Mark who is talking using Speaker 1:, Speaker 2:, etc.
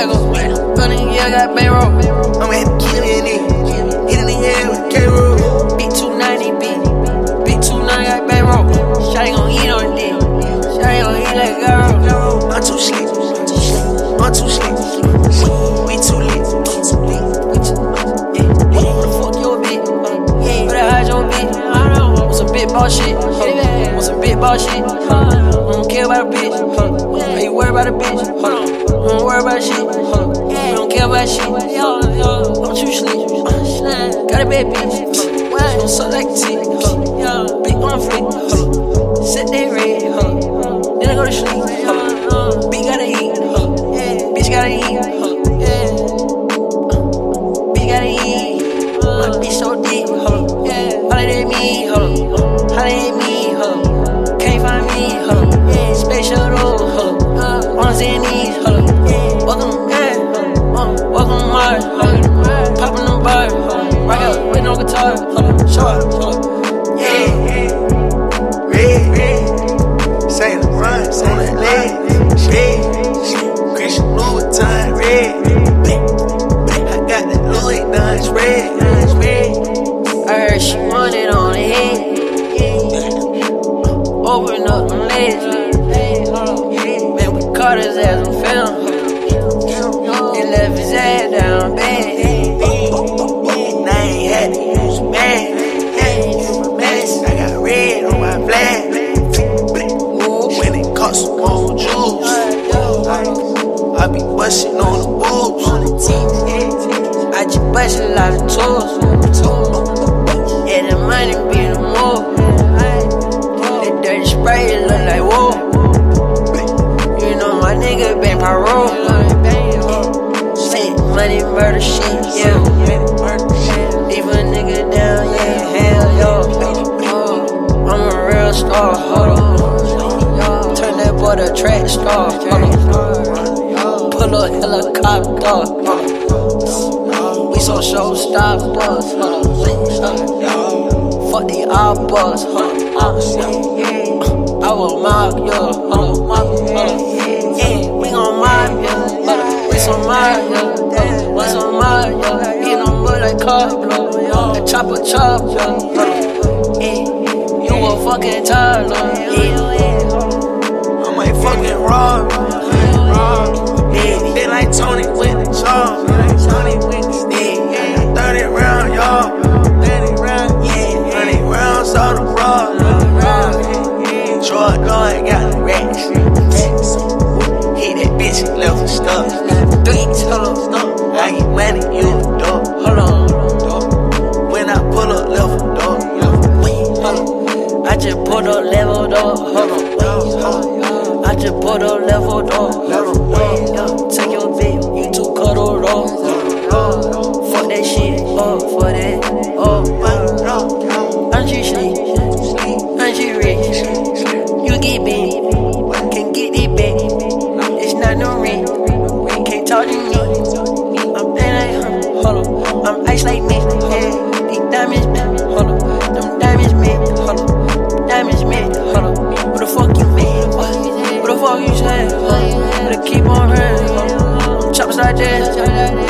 Speaker 1: swagger. Running, yeah, I got bankroll. I'ma have to kill it in. Hit in the air with K-roll. Big 290, big 290, got bankroll. Shawty gon' eat on it. Shawty gon' eat like a girl. I'm too slick. I'm too slick. We too lit. What the fuck your bitch? Where the hide your bitch? On some big ball shit. On some big ball shit. Don't care about a bitch. Are you worried about a bitch? Don't worry about shit. We don't care about shit. Don't you sleep. Got a bad bitch. Don't suck like a tick. Big on flick. Set that red. Then I go to sleep. Bitch gotta eat. Bitch gotta eat. Bitch gotta eat. My bitch so deep. Holla at me. Holla at me. Can't find me. Special though. On Zennies. Welcome to welcome to Mars. Poppin' them bars. Rock out with no guitar. Show up. Yeah. Red. Saint Laurent on that leg. Red. Christian Louis Vuitton. Red. I got that Louis Vuitton. Red. I heard she wanted on the head. Open up them legs. Man, we caught his ass on film. He left his ass down bad. And I ain't had to use a bag. I got red on my flag. When it costs some more juice, I be bustin' on the boobs. I just bust a lot of tools. Yeah, the money be the move. That dirty spray look like whoa. You know my nigga been parole. Say money murder shit, yeah. Leave a nigga down, yeah, hell yo. I'm a real star, hold on. Turn that boy to track star, hold on. Pull up helicopter, hold on. We so showstoppers, hold on. Fuck the outbox, hold on. I will mob you, hold on. Yeah, we gon' mob you, we some mob you. What's on my Eat on wood like Carlo. The chopper. You a fucking toddler. I might fucking rob. They like Tony with the charm. 30 round, y'all. 30 rounds on the road. Jordan got the racks. Hit that bitch and left her stuck. 3 times. I get money, you a dog. Hold on. When I pull up, left a dog. Hold on. I just pulled up level dog. Hold on. I just pulled up level dog. Hold on. Take your bitch, you too cuddled off. Fuck that shit, for that. I'm just sleep. I'm just rich. You get big. Can't get it back. It's not no ring. Can't talk to me. Hold on, I'm ice like me, yeah. These diamonds, hold on. Them diamonds, hold on. Diamonds, hold on. What the fuck you mean? What the fuck you say? Better keep on running. Chops like that.